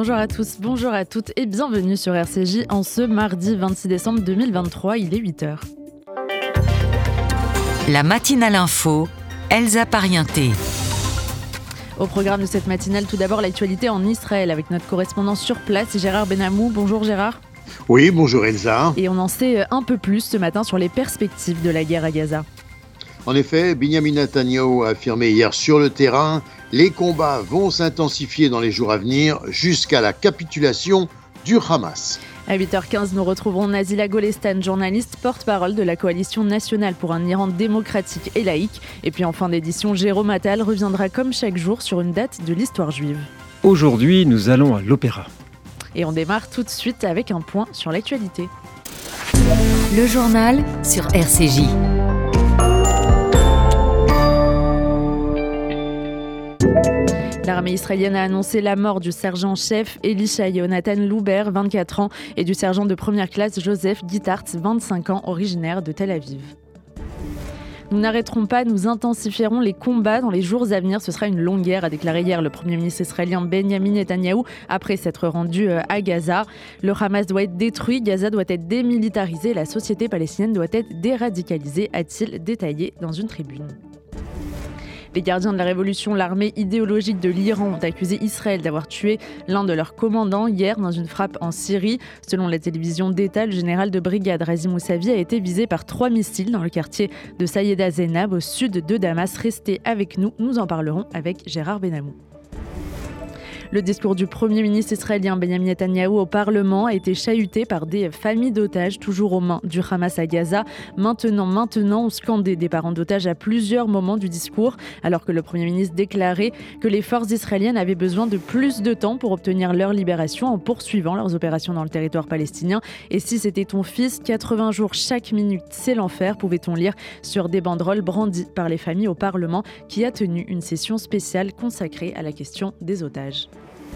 Bonjour à tous, bonjour à toutes et bienvenue sur RCJ en ce mardi 26 décembre 2023, il est 8h. La matinale info, Elsa Parienté. Au programme de cette matinale, tout d'abord l'actualité en Israël avec notre correspondant sur place, Gérard Benamou. Bonjour Gérard. Oui, bonjour Elsa. Et on en sait un peu plus ce matin sur les perspectives de la guerre à Gaza. En effet, Benyamin Netanyahou a affirmé hier sur le terrain « Les combats vont s'intensifier dans les jours à venir jusqu'à la capitulation du Hamas ». À 8h15, nous retrouverons Nazila Golestan, journaliste porte-parole de la Coalition nationale pour un Iran démocratique et laïque. Et puis en fin d'édition, Jérôme Attal reviendra comme chaque jour sur une date de l'histoire juive. Aujourd'hui, nous allons à l'Opéra. Et on démarre tout de suite avec un point sur l'actualité. Le journal sur RCJ. L'armée israélienne a annoncé la mort du sergent-chef Elisha Yonatan Louber, 24 ans, et du sergent de première classe Joseph Gittartz, 25 ans, originaire de Tel Aviv. Nous n'arrêterons pas, nous intensifierons les combats dans les jours à venir. Ce sera une longue guerre, a déclaré hier le Premier ministre israélien Benyamin Netanyahou après s'être rendu à Gaza. Le Hamas doit être détruit, Gaza doit être démilitarisé, la société palestinienne doit être déradicalisée, a-t-il détaillé dans une tribune. Les gardiens de la révolution, l'armée idéologique de l'Iran, ont accusé Israël d'avoir tué l'un de leurs commandants hier dans une frappe en Syrie. Selon la télévision d'État, le général de brigade Razi Mousavi a été visé par 3 missiles dans le quartier de Sayeda Zeynab au sud de Damas. Restez avec nous, nous en parlerons avec Gérard Benamou. Le discours du Premier ministre israélien Benyamin Netanyahou au Parlement a été chahuté par des familles d'otages toujours aux mains du Hamas à Gaza. Maintenant, ont scandé des parents d'otages à plusieurs moments du discours, alors que le Premier ministre déclarait que les forces israéliennes avaient besoin de plus de temps pour obtenir leur libération en poursuivant leurs opérations dans le territoire palestinien. Et si c'était ton fils, 80 jours chaque minute, c'est l'enfer, pouvait-on lire sur des banderoles brandies par les familles au Parlement qui a tenu une session spéciale consacrée à la question des otages.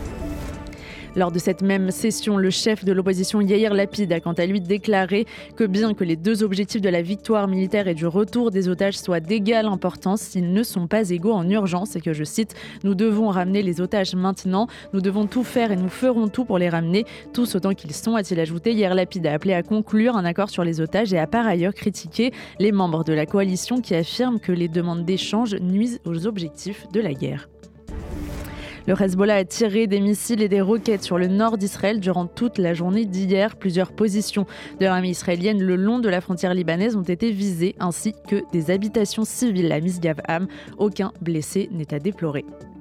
Lors de cette même session, le chef de l'opposition Yair Lapid a quant à lui déclaré que bien que les deux objectifs de la victoire militaire et du retour des otages soient d'égale importance, ils ne sont pas égaux en urgence et que, je cite, « Nous devons ramener les otages maintenant, nous devons tout faire et nous ferons tout pour les ramener, tous autant qu'ils sont », a-t-il ajouté. Yair Lapid a appelé à conclure un accord sur les otages et a par ailleurs critiqué les membres de la coalition qui affirment que les demandes d'échange nuisent aux objectifs de la guerre. Le Hezbollah a tiré des missiles et des roquettes sur le nord d'Israël durant toute la journée d'hier. Plusieurs positions de l'armée israélienne le long de la frontière libanaise ont été visées, ainsi que des habitations civiles à Misgav-Am. Aucun blessé n'est à déplorer.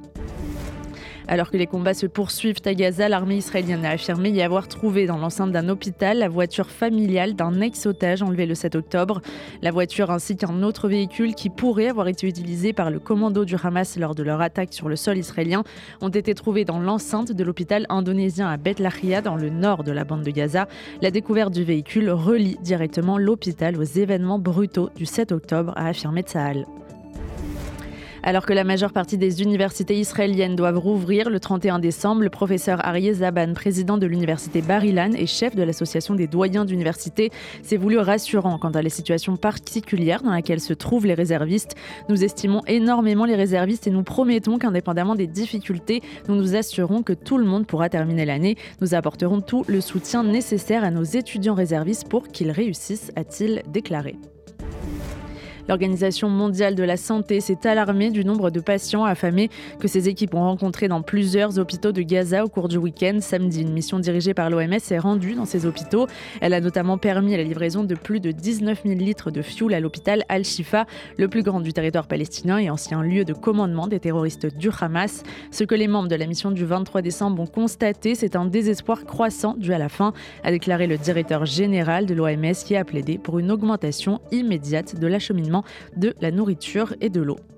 Alors que les combats se poursuivent à Gaza, l'armée israélienne a affirmé y avoir trouvé dans l'enceinte d'un hôpital la voiture familiale d'un ex-otage enlevé le 7 octobre. La voiture ainsi qu'un autre véhicule qui pourrait avoir été utilisé par le commando du Hamas lors de leur attaque sur le sol israélien ont été trouvés dans l'enceinte de l'hôpital indonésien à Beth Lahia dans le nord de la bande de Gaza. La découverte du véhicule relie directement l'hôpital aux événements brutaux du 7 octobre, a affirmé Tsahal. Alors que la majeure partie des universités israéliennes doivent rouvrir le 31 décembre, le professeur Aryeh Zaban, président de l'université Bar-Ilan et chef de l'association des doyens d'université, s'est voulu rassurant quant à la situation particulière dans laquelle se trouvent les réservistes. Nous estimons énormément les réservistes et nous promettons qu'indépendamment des difficultés, nous nous assurerons que tout le monde pourra terminer l'année. Nous apporterons tout le soutien nécessaire à nos étudiants réservistes pour qu'ils réussissent, a-t-il déclaré. L'Organisation mondiale de la santé s'est alarmée du nombre de patients affamés que ses équipes ont rencontrés dans plusieurs hôpitaux de Gaza au cours du week-end. Samedi, une mission dirigée par l'OMS s'est rendue dans ces hôpitaux. Elle a notamment permis la livraison de plus de 19 000 litres de fioul à l'hôpital Al-Shifa, le plus grand du territoire palestinien et ancien lieu de commandement des terroristes du Hamas. Ce que les membres de la mission du 23 décembre ont constaté, c'est un désespoir croissant dû à la faim, a déclaré le directeur général de l'OMS qui a plaidé pour une augmentation immédiate de l'acheminement de la nourriture et de l'eau.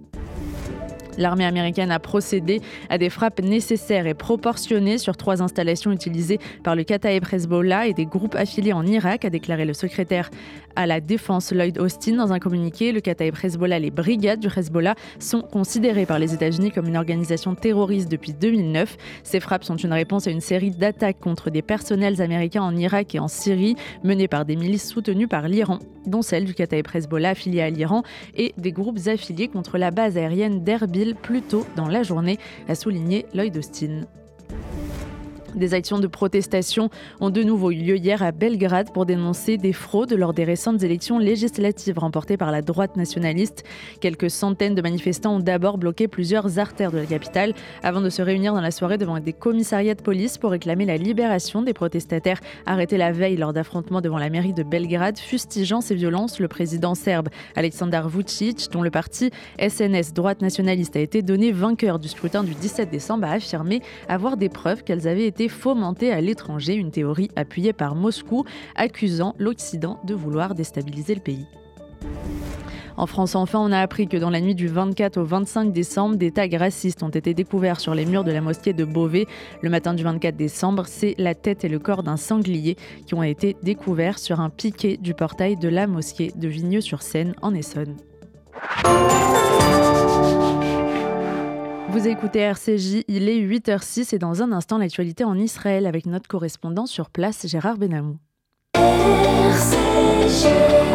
L'armée américaine a procédé à des frappes nécessaires et proportionnées sur 3 installations utilisées par le Kataeb Hezbollah et des groupes affiliés en Irak, a déclaré le secrétaire à la Défense Lloyd Austin dans un communiqué. Le Kataeb Hezbollah, les brigades du Hezbollah, sont considérées par les États-Unis comme une organisation terroriste depuis 2009. Ces frappes sont une réponse à une série d'attaques contre des personnels américains en Irak et en Syrie, menées par des milices soutenues par l'Iran, dont celle du Kataeb Hezbollah affilié à l'Iran et des groupes affiliés contre la base aérienne d'Erbil plus tôt dans la journée, a souligné Lloyd Austin. Des actions de protestation ont de nouveau eu lieu hier à Belgrade pour dénoncer des fraudes lors des récentes élections législatives remportées par la droite nationaliste. Quelques centaines de manifestants ont d'abord bloqué plusieurs artères de la capitale avant de se réunir dans la soirée devant des commissariats de police pour réclamer la libération des protestataires arrêtés la veille lors d'affrontements devant la mairie de Belgrade. Fustigeant ces violences, le président serbe Aleksandar Vučić, dont le parti SNS droite nationaliste a été donné vainqueur du scrutin du 17 décembre, a affirmé avoir des preuves qu'elles avaient été fomentées à l'étranger, une théorie appuyée par Moscou, accusant l'Occident de vouloir déstabiliser le pays. En France, enfin, on a appris que dans la nuit du 24 au 25 décembre, des tags racistes ont été découverts sur les murs de la mosquée de Beauvais. Le matin du 24 décembre, c'est la tête et le corps d'un sanglier qui ont été découverts sur un piquet du portail de la mosquée de Vigneux-sur-Seine en Essonne. Vous écoutez RCJ, il est 8h06 et dans un instant, l'actualité en Israël avec notre correspondant sur place, Gérard Benamou. RCJ.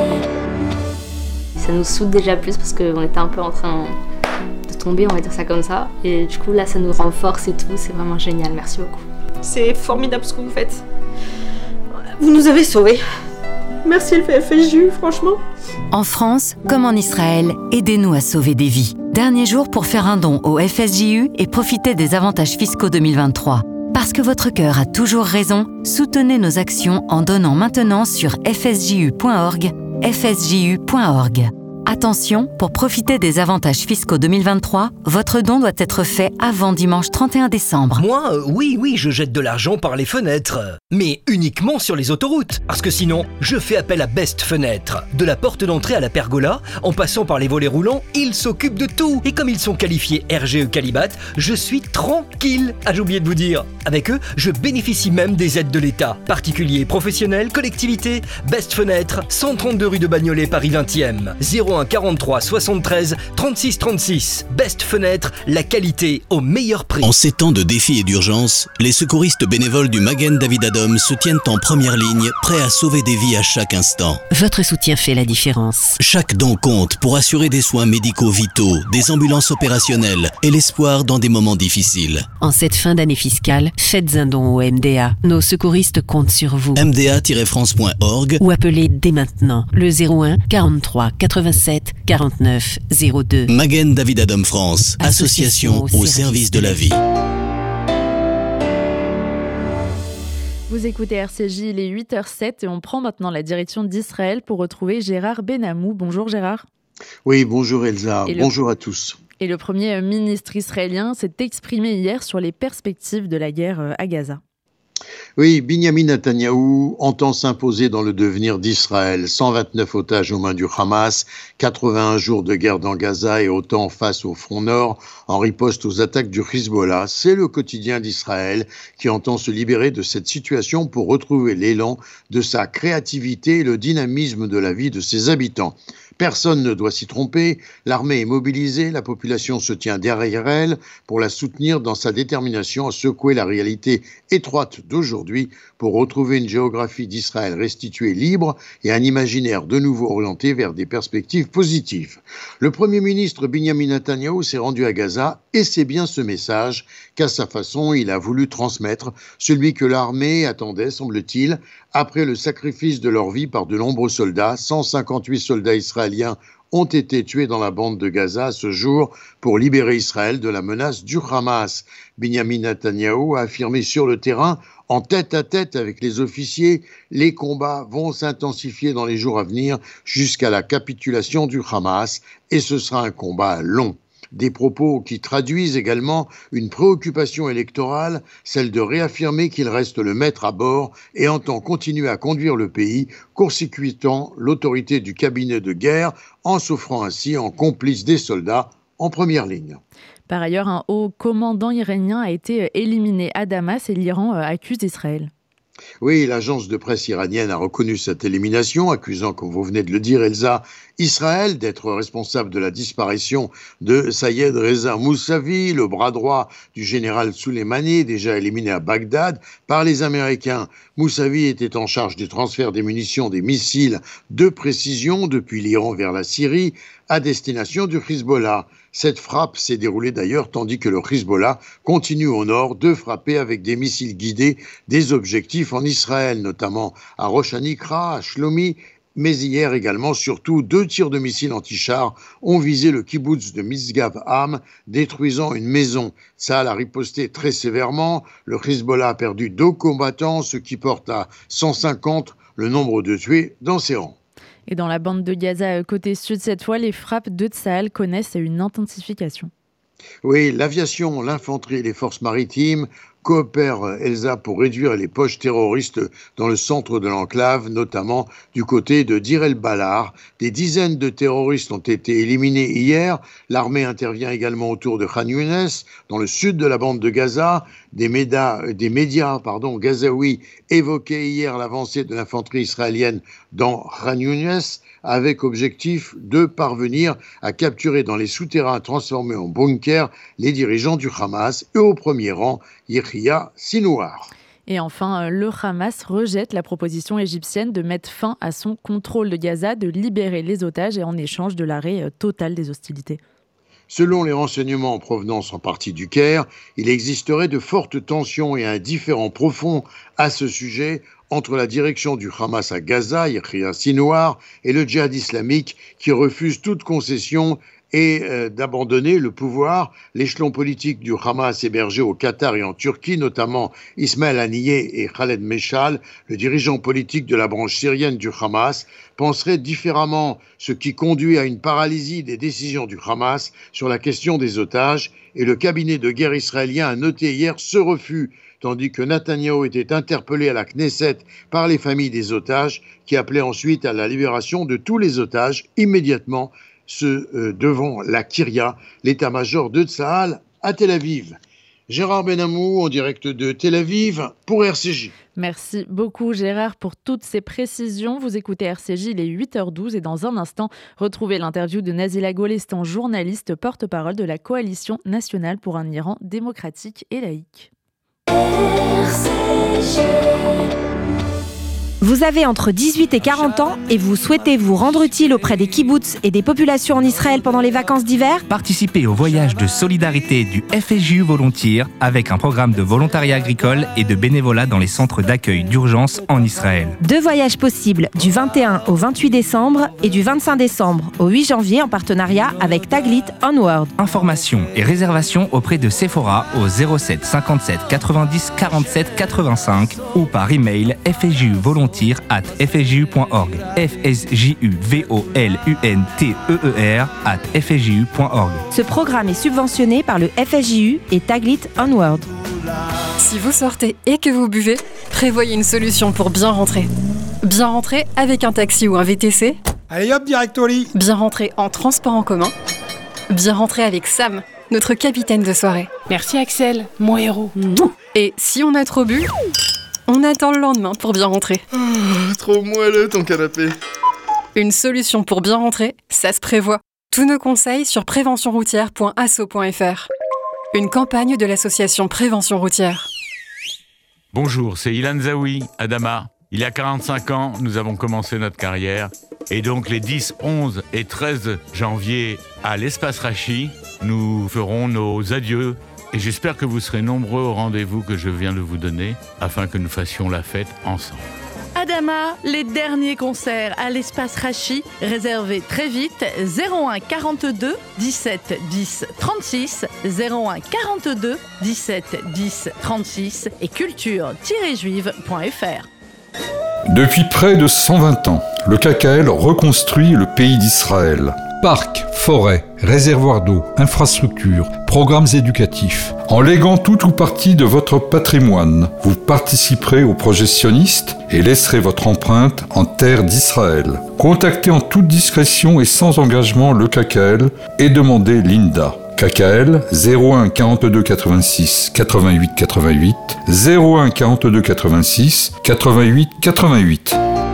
Ça nous soude déjà plus parce qu'on était un peu en train de tomber, on va dire ça comme ça. Et du coup, là, ça nous renforce et tout, c'est vraiment génial, merci beaucoup. C'est formidable ce que vous faites. Vous nous avez sauvés. Merci le FSJU, franchement. En France, comme en Israël, aidez-nous à sauver des vies. Dernier jour pour faire un don au FSJU et profiter des avantages fiscaux 2023. Parce que votre cœur a toujours raison, soutenez nos actions en donnant maintenant sur fsju.org, fsju.org. Attention, pour profiter des avantages fiscaux 2023, votre don doit être fait avant dimanche 31 décembre. Moi, oui, je jette de l'argent par les fenêtres. Mais uniquement sur les autoroutes. Parce que sinon, je fais appel à Best Fenêtre. De la porte d'entrée à la pergola, en passant par les volets roulants, ils s'occupent de tout. Et comme ils sont qualifiés RGE Qualibat, je suis tranquille. Ah, j'ai oublié de vous dire. Avec eux, je bénéficie même des aides de l'État. Particuliers, professionnels, collectivités. Best Fenêtre, 132 rue de Bagnolet, Paris 20e. 01 43 73 36 36. Best Fenêtre, la qualité au meilleur prix. En ces temps de défis et d'urgence, les secouristes bénévoles du Magen David Adom se tiennent en première ligne, prêts à sauver des vies à chaque instant. Votre soutien fait la différence. Chaque don compte pour assurer des soins médicaux vitaux, des ambulances opérationnelles et l'espoir dans des moments difficiles. En cette fin d'année fiscale, faites un don au MDA. Nos secouristes comptent sur vous. mda-france.org Ou appelez dès maintenant le 01 43 87 49 02. Magen David Adom France, association au service de la vie. Vous écoutez RCJ, il est 8h07 et on prend maintenant la direction d'Israël pour retrouver Gérard Benamou. Bonjour Gérard. Oui, bonjour Elsa, bonjour à tous. Et le Premier ministre israélien s'est exprimé hier sur les perspectives de la guerre à Gaza. Oui, Binyamin Netanyahou entend s'imposer dans le devenir d'Israël. 129 otages aux mains du Hamas, 81 jours de guerre dans Gaza et autant face au front nord en riposte aux attaques du Hezbollah. C'est le quotidien d'Israël qui entend se libérer de cette situation pour retrouver l'élan de sa créativité et le dynamisme de la vie de ses habitants. Personne ne doit s'y tromper, l'armée est mobilisée, la population se tient derrière elle pour la soutenir dans sa détermination à secouer la réalité étroite d'aujourd'hui pour retrouver une géographie d'Israël restituée libre et un imaginaire de nouveau orienté vers des perspectives positives. Le Premier ministre Binyamin Netanyahou s'est rendu à Gaza et c'est bien ce message qu'à sa façon il a voulu transmettre, celui que l'armée attendait, semble-t-il, après le sacrifice de leur vie par de nombreux soldats. 158 soldats israéliens ont été tués dans la bande de Gaza ce jour pour libérer Israël de la menace du Hamas. Binyamin Netanyahou a affirmé sur le terrain, en tête-à-tête avec les officiers, les combats vont s'intensifier dans les jours à venir jusqu'à la capitulation du Hamas et ce sera un combat long. Des propos qui traduisent également une préoccupation électorale, celle de réaffirmer qu'il reste le maître à bord et entend continuer à conduire le pays, court-circuitant l'autorité du cabinet de guerre en s'offrant ainsi en complice des soldats en première ligne. Par ailleurs, un haut commandant iranien a été éliminé à Damas et l'Iran accuse Israël. Oui, l'agence de presse iranienne a reconnu cette élimination, accusant, comme vous venez de le dire, Elsa, Israël d'être responsable de la disparition de Sayed Reza Moussavi, le bras droit du général Soleimani, déjà éliminé à Bagdad par les Américains. Moussavi était en charge du transfert des munitions, des missiles de précision depuis l'Iran vers la Syrie, à destination du Hezbollah. Cette frappe s'est déroulée d'ailleurs tandis que le Hezbollah continue au nord de frapper avec des missiles guidés des objectifs en Israël, notamment à Rosh Hanikra, à Shlomi, mais hier également, surtout, 2 tirs de missiles anti-chars ont visé le kibboutz de Misgav-Am, détruisant une maison. Tsahal a riposté très sévèrement. Le Hezbollah a perdu 2 combattants, ce qui porte à 150 le nombre de tués dans ses rangs. Et dans la bande de Gaza, côté sud, cette fois, les frappes de Tsahal connaissent une intensification. Oui, l'aviation, l'infanterie et les forces maritimes coopèrent, Elsa, pour réduire les poches terroristes dans le centre de l'enclave, notamment du côté de Dir el-Balar. Des dizaines de terroristes ont été éliminés hier. L'armée intervient également autour de Khan Younes, dans le sud de la bande de Gaza. Des médias gazaouis évoquaient hier l'avancée de l'infanterie israélienne dans Khan Younes, avec objectif de parvenir à capturer dans les souterrains transformés en bunkers les dirigeants du Hamas et au premier rang Yahya Sinouar. Et enfin, le Hamas rejette la proposition égyptienne de mettre fin à son contrôle de Gaza, de libérer les otages et en échange de l'arrêt total des hostilités. Selon les renseignements en provenance en partie du Caire, il existerait de fortes tensions et un différend profond à ce sujet entre la direction du Hamas à Gaza, Yahya Sinouar, et le djihad islamique qui refuse toute concession et d'abandonner le pouvoir. L'échelon politique du Hamas hébergé au Qatar et en Turquie, notamment Ismaël Haniyeh et Khaled Meshal, le dirigeant politique de la branche syrienne du Hamas, penserait différemment, ce qui conduit à une paralysie des décisions du Hamas sur la question des otages, et le cabinet de guerre israélien a noté hier ce refus, tandis que Netanyahou était interpellé à la Knesset par les familles des otages, qui appelaient ensuite à la libération de tous les otages immédiatement, devant la Kyria, l'état-major de Tsahal à Tel Aviv. Gérard Benamou en direct de Tel Aviv pour RCJ. Merci beaucoup Gérard pour toutes ces précisions. Vous écoutez RCJ, il est 8h12 et dans un instant, retrouvez l'interview de Nazila Golestan, journaliste porte-parole de la Coalition nationale pour un Iran démocratique et laïque. RCJ. Vous avez entre 18 et 40 ans et vous souhaitez vous rendre utile auprès des kibboutz et des populations en Israël pendant les vacances d'hiver ? Participez au voyage de solidarité du FSJU Volontiers avec un programme de volontariat agricole et de bénévolat dans les centres d'accueil d'urgence en Israël. 2 voyages possibles du 21 au 28 décembre et du 25 décembre au 8 janvier en partenariat avec Taglit Onward. Informations et réservations auprès de Sephora au 07 57 90 47 85 ou par email fsjuvolontiers@fsju.org. fsjuvolunteer@fsju.org. Ce programme est subventionné par le FSJU et Taglit Onward. Si vous sortez et que vous buvez, prévoyez une solution pour bien rentrer. Bien rentrer avec un taxi ou un VTC. Allez hop, direct au lit. Bien rentrer en transport en commun. Bien rentrer avec Sam, notre capitaine de soirée. Merci Axel, mon héros. Et si on a trop bu, on attend le lendemain pour bien rentrer. Trop moelleux ton canapé. Une solution pour bien rentrer, ça se prévoit. Tous nos conseils sur préventionroutière.asso.fr. Une campagne de l'association Prévention routière. Bonjour, c'est Ilan Zaoui, Adama. Il y a 45 ans, nous avons commencé notre carrière. Et donc les 10, 11 et 13 janvier à l'Espace Rachi, nous ferons nos adieux. Et j'espère que vous serez nombreux au rendez-vous que je viens de vous donner afin que nous fassions la fête ensemble. Adama, les derniers concerts à l'Espace Rachi, réservez très vite 01 42 17 10 36, 01 42 17 10 36 et culture-juive.fr. Depuis près de 120 ans, le KKL reconstruit le pays d'Israël. Parcs, forêts, réservoirs d'eau, infrastructures, programmes éducatifs. En léguant tout ou partie de votre patrimoine, vous participerez au projet sioniste et laisserez votre empreinte en terre d'Israël. Contactez en toute discrétion et sans engagement le KKL et demandez l'INDA. KKL 01 42 86 88 88 01 42 86 88 88.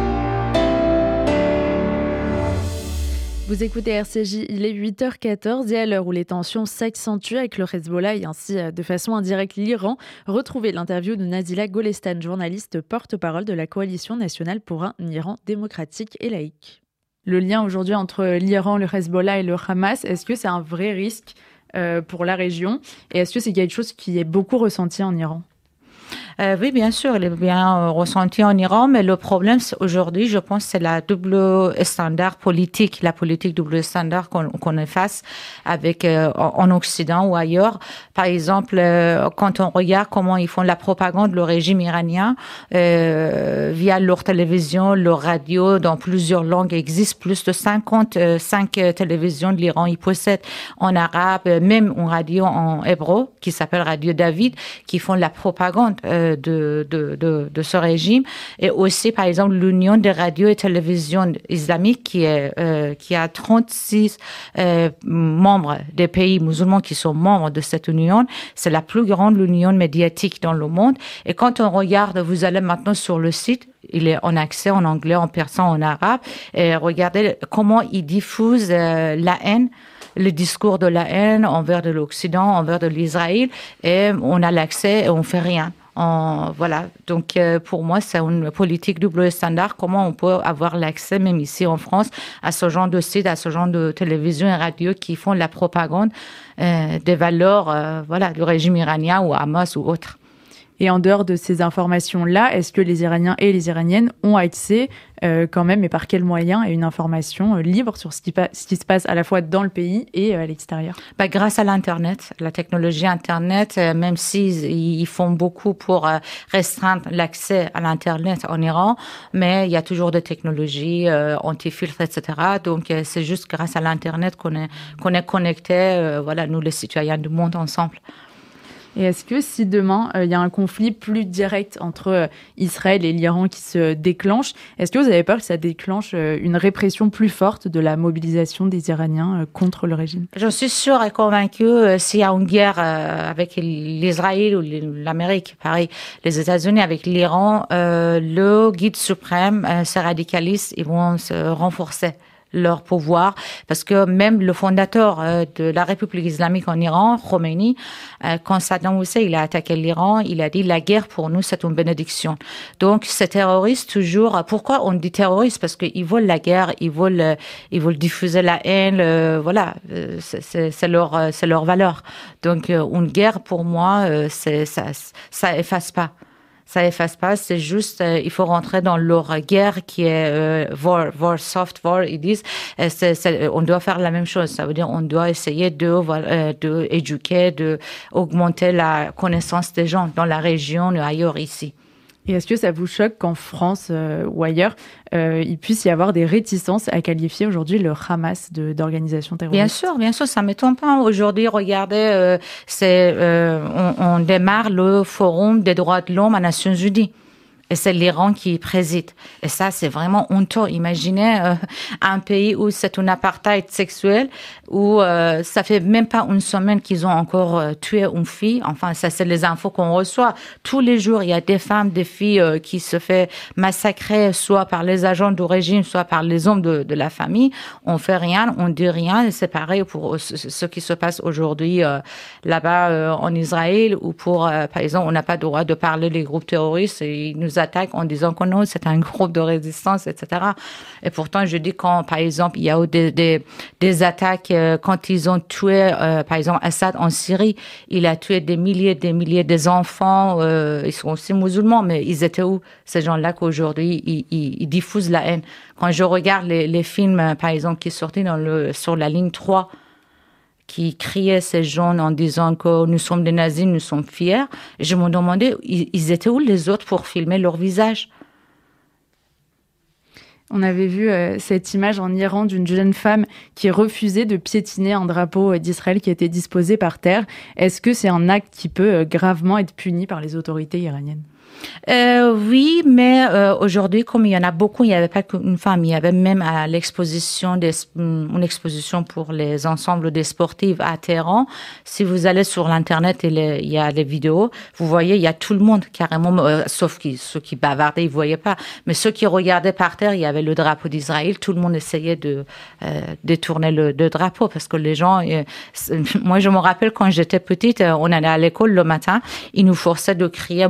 Vous écoutez RCJ, il est 8h14 et à l'heure où les tensions s'accentuent avec le Hezbollah et ainsi de façon indirecte l'Iran, retrouvez l'interview de Nazila Golestan, journaliste porte-parole de la Coalition nationale pour un Iran démocratique et laïque. Le lien aujourd'hui entre l'Iran, le Hezbollah et le Hamas, est-ce que c'est un vrai risque pour la région? Et est-ce que c'est quelque chose qui est beaucoup ressenti en Iran? Oui, bien sûr, il est bien ressenti en Iran, mais le problème aujourd'hui, je pense, c'est la double standard politique, la politique double standard qu'on est face avec en Occident ou ailleurs. Par exemple, quand on regarde comment ils font la propagande, le régime iranien, via leur télévision, leur radio, dans plusieurs langues, il existe plus de 55 télévisions de l'Iran. Ils possèdent en arabe, même une radio en hébreu, qui s'appelle Radio David, qui font la propagande de ce régime. Et aussi, par exemple, l'Union des radios et télévisions islamiques qui a 36 membres des pays musulmans qui sont membres de cette union. C'est la plus grande union médiatique dans le monde. Et quand on regarde, vous allez maintenant sur le site, il est en accès en anglais, en persan, en arabe, et regardez comment ils diffusent la haine, le discours de la haine envers de l'Occident, envers de l'Israël, et on a l'accès et on fait rien. Voilà. Donc, pour moi, c'est une politique double standard. Comment on peut avoir l'accès, même ici en France, à ce genre de sites, à ce genre de télévision et radio qui font la propagande des valeurs, du régime iranien ou Hamas ou autre. Et en dehors de ces informations-là, est-ce que les Iraniens et les Iraniennes ont accès quand même, et par quels moyens, à une information libre sur ce qui se passe à la fois dans le pays et à l'extérieur? Grâce à l'Internet, la technologie Internet, même s'ils font beaucoup pour restreindre l'accès à l'Internet en Iran, mais il y a toujours des technologies anti-filtres, etc. Donc, c'est juste grâce à l'Internet qu'on est connectés, nous les citoyens du monde ensemble. Et est-ce que si demain, il y a un conflit plus direct entre Israël et l'Iran qui se déclenche, est-ce que vous avez peur que ça déclenche une répression plus forte de la mobilisation des Iraniens contre le régime? Je suis sûre et convaincue, s'il y a une guerre avec l'Israël ou l'Amérique, pareil, les États-Unis avec l'Iran, le guide suprême, ces radicalistes, ils vont se renforcer leur pouvoir, parce que même le fondateur de la République islamique en Iran, Khomeini, quand Saddam Hussein il a attaqué l'Iran, il a dit la guerre pour nous c'est une bénédiction. Donc ces terroristes toujours, pourquoi on dit terroristes? Parce qu'ils veulent la guerre, ils veulent diffuser la haine, c'est leur valeur. Donc une guerre pour moi, ça efface pas. Ça efface pas, c'est juste, il faut rentrer dans leur guerre qui est war, soft war, ils disent. On doit faire la même chose. Ça veut dire on doit essayer de éduquer, de augmenter la connaissance des gens dans la région et ailleurs ici. Et est-ce que ça vous choque qu'en France ou ailleurs, il puisse y avoir des réticences à qualifier aujourd'hui le Hamas d'organisation terroriste? Bien sûr, ça ne m'étonne pas. Aujourd'hui, regardez, on démarre le Forum des droits de l'homme à Nations Unies. Et c'est l'Iran qui préside. Et ça, c'est vraiment honteux. Imaginez un pays où c'est un apartheid sexuel, où ça fait même pas une semaine qu'ils ont encore tué une fille. Enfin, ça, c'est les infos qu'on reçoit. Tous les jours, il y a des femmes, des filles qui se font massacrer, soit par les agents du régime, soit par les hommes de la famille. On fait rien, on dit rien. Et c'est pareil pour ce qui se passe aujourd'hui là-bas en Israël, où par exemple, on n'a pas le droit de parler des groupes terroristes et ils nous attaquent en disant que non, c'est un groupe de résistance, etc. Et pourtant, je dis quand, par exemple, il y a eu des attaques, quand ils ont tué, par exemple, Assad en Syrie, il a tué des milliers des enfants, ils sont aussi musulmans, mais ils étaient où, ces gens-là qu'aujourd'hui, ils diffusent la haine. Quand je regarde les films, par exemple, qui sortaient sur la ligne 3, qui criaient ces gens en disant que nous sommes des nazis, nous sommes fiers. Et je me demandais, ils étaient où les autres pour filmer leur visage? On avait vu cette image en Iran d'une jeune femme qui refusait de piétiner un drapeau d'Israël qui était disposé par terre. Est-ce que c'est un acte qui peut gravement être puni par les autorités iraniennes? Oui, mais aujourd'hui, comme il y en a beaucoup, il n'y avait pas qu'une femme. Il y avait même à l'exposition, une exposition pour les ensembles des sportifs à Téhéran. Si vous allez sur l'Internet, il y a les vidéos. Vous voyez, il y a tout le monde carrément, sauf ceux qui bavardaient, ils ne voyaient pas. Mais ceux qui regardaient par terre, il y avait le drapeau d'Israël. Tout le monde essayait de détourner le drapeau parce que les gens... moi, je me rappelle quand j'étais petite, on allait à l'école le matin, ils nous forçaient de crier « Mort à l'Israël ».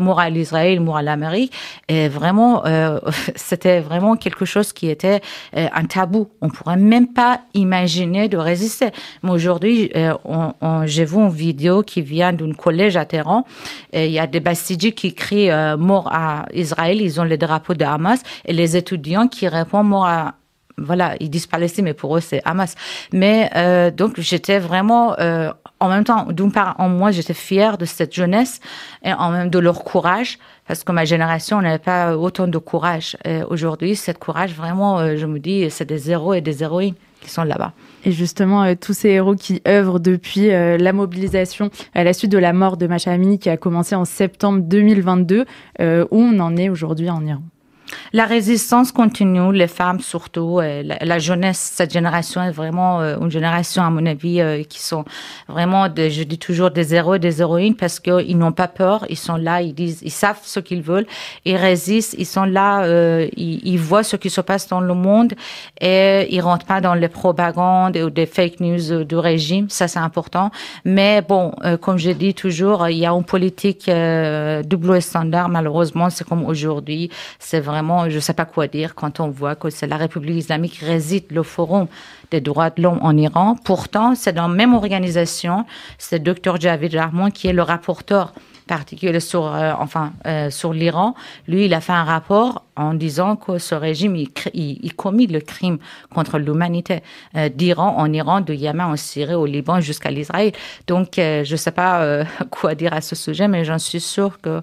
Israël, mort à l'Amérique. Et vraiment, c'était vraiment quelque chose qui était un tabou. On pourrait même pas imaginer de résister. Mais aujourd'hui, j'ai vu une vidéo qui vient d'un collège à Téhéran. Il y a des Bassidji qui crient mort à Israël. Ils ont les drapeaux de Hamas. Et les étudiants qui répondent mort à... Voilà, ils disent Palestine, mais pour eux, c'est Hamas. Mais donc, j'étais vraiment... en même temps, d'une part, en moi, j'étais fière de cette jeunesse et en même de leur courage, parce que ma génération n'avait pas autant de courage. Aujourd'hui, cette courage, vraiment, je me dis, c'est des héros et des héroïnes qui sont là-bas. Et justement, tous ces héros qui œuvrent depuis la mobilisation à la suite de la mort de Mahsa Amini qui a commencé en septembre 2022, où on en est aujourd'hui en Iran? La résistance continue, les femmes surtout, la jeunesse, cette génération est vraiment une génération, à mon avis, qui sont vraiment, je dis toujours, des héros et des héroïnes parce qu'ils n'ont pas peur, ils sont là, ils savent ce qu'ils veulent, ils résistent, ils sont là, ils voient ce qui se passe dans le monde et ils rentrent pas dans les propagandes ou des fake news du régime, ça c'est important. Mais bon, comme je dis toujours, il y a une politique double standard, malheureusement, c'est comme aujourd'hui, c'est vraiment, je ne sais pas quoi dire quand on voit que c'est la République islamique qui réside le Forum des droits de l'homme en Iran. Pourtant, c'est dans la même organisation, c'est le Dr Javid Rahman qui est le rapporteur particulier sur l'Iran. Lui, il a fait un rapport en disant que ce régime, il commet le crime contre l'humanité d'Iran, en Iran, de Yémen, en Syrie, au Liban, jusqu'à l'Israël. Donc, je ne sais pas quoi dire à ce sujet, mais j'en suis sûre que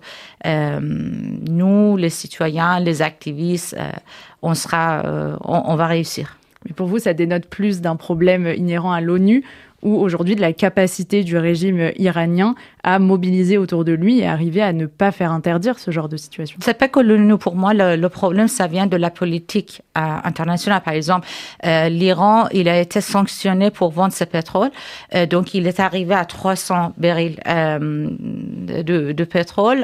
nous, les citoyens, les activistes, on va réussir. Mais pour vous, ça dénote plus d'un problème inhérent à l'ONU ou aujourd'hui de la capacité du régime iranien à mobiliser autour de lui et arriver à ne pas faire interdire ce genre de situation? C'est pas que l'ONU, pour moi, le problème, ça vient de la politique internationale. Par exemple, l'Iran, il a été sanctionné pour vendre ses pétroles. Donc, il est arrivé à 300 barils de pétrole.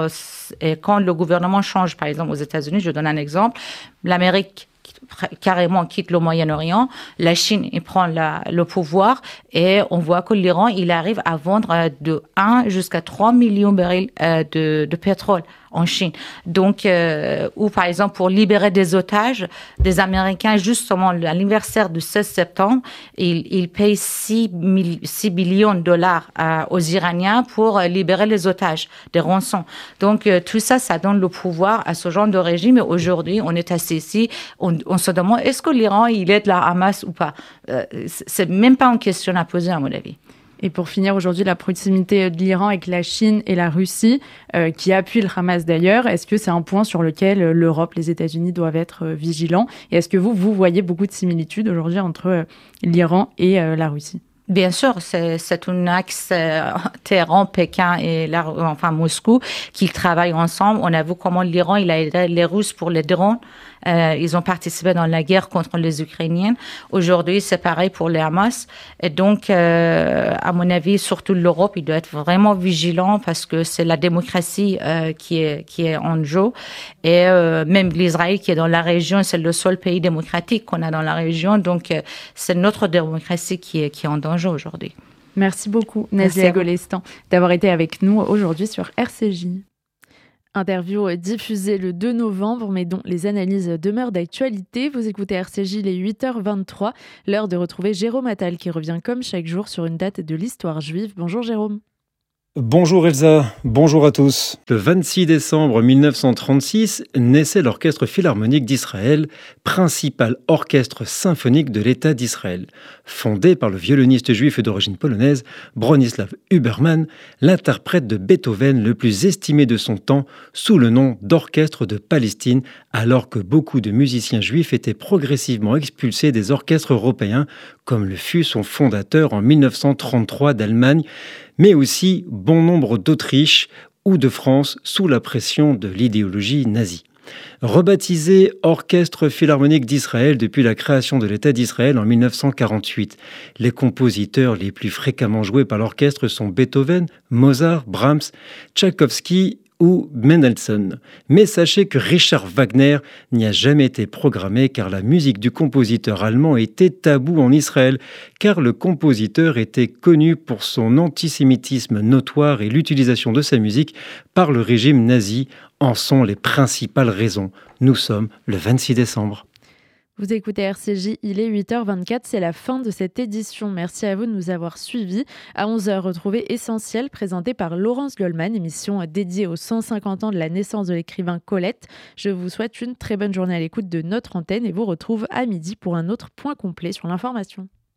Et quand le gouvernement change, par exemple, aux États-Unis, je donne un exemple, l'Amérique carrément quitte le Moyen-Orient, la Chine il prend le pouvoir et on voit que l'Iran il arrive à vendre de 1 jusqu'à 3 millions de barils de pétrole en Chine. Donc, ou par exemple pour libérer des otages, des Américains, justement à l'anniversaire du 16 septembre, ils payent 6 billions de dollars aux Iraniens pour libérer les otages, des rançons. Donc, tout ça, ça donne le pouvoir à ce genre de régime. Et aujourd'hui, on est assis ici, on se demande, est-ce que l'Iran, il aide la Hamas ou pas? C'est même pas une question à poser, à mon avis. Et pour finir, aujourd'hui, la proximité de l'Iran avec la Chine et la Russie, qui appuient le Hamas d'ailleurs, est-ce que c'est un point sur lequel l'Europe, les États-Unis doivent être vigilants? Et est-ce que vous voyez beaucoup de similitudes aujourd'hui entre l'Iran et la Russie? Bien sûr, c'est un axe Téhéran, Pékin et Moscou qui travaillent ensemble. On a vu comment l'Iran il a aidé les Russes pour les drones. Ils ont participé dans la guerre contre les Ukrainiens. Aujourd'hui, c'est pareil pour les Hamas. Et donc, à mon avis, surtout l'Europe, il doit être vraiment vigilant parce que c'est la démocratie qui est en jeu. Et même l'Israël qui est dans la région, c'est le seul pays démocratique qu'on a dans la région. Donc, c'est notre démocratie qui est en danger aujourd'hui. Merci beaucoup, Nazia Golestan, d'avoir été avec nous aujourd'hui sur RCJ. Interview diffusée le 2 novembre, mais dont les analyses demeurent d'actualité. Vous écoutez RCJ, les 8h23. L'heure de retrouver Jérôme Attal qui revient comme chaque jour sur une date de l'histoire juive. Bonjour Jérôme. Bonjour Elsa, bonjour à tous. Le 26 décembre 1936 naissait l'Orchestre Philharmonique d'Israël, principal orchestre symphonique de l'État d'Israël. Fondé par le violoniste juif d'origine polonaise Bronislaw Huberman, l'interprète de Beethoven le plus estimé de son temps sous le nom d'Orchestre de Palestine, alors que beaucoup de musiciens juifs étaient progressivement expulsés des orchestres européens, comme le fut son fondateur en 1933 d'Allemagne, mais aussi bon nombre d'Autriche ou de France sous la pression de l'idéologie nazie. Rebaptisé Orchestre Philharmonique d'Israël depuis la création de l'État d'Israël en 1948, les compositeurs les plus fréquemment joués par l'orchestre sont Beethoven, Mozart, Brahms, Tchaïkovski ou Mendelssohn. Mais sachez que Richard Wagner n'y a jamais été programmé car la musique du compositeur allemand était taboue en Israël, car le compositeur était connu pour son antisémitisme notoire et l'utilisation de sa musique par le régime nazi en sont les principales raisons. Nous sommes le 26 décembre. Vous écoutez RCJ, il est 8h24, c'est la fin de cette édition. Merci à vous de nous avoir suivis. À 11h, retrouvez Essentiel, présenté par Laurence Goldman, émission dédiée aux 150 ans de la naissance de l'écrivain Colette. Je vous souhaite une très bonne journée à l'écoute de notre antenne et vous retrouve à midi pour un autre point complet sur l'information.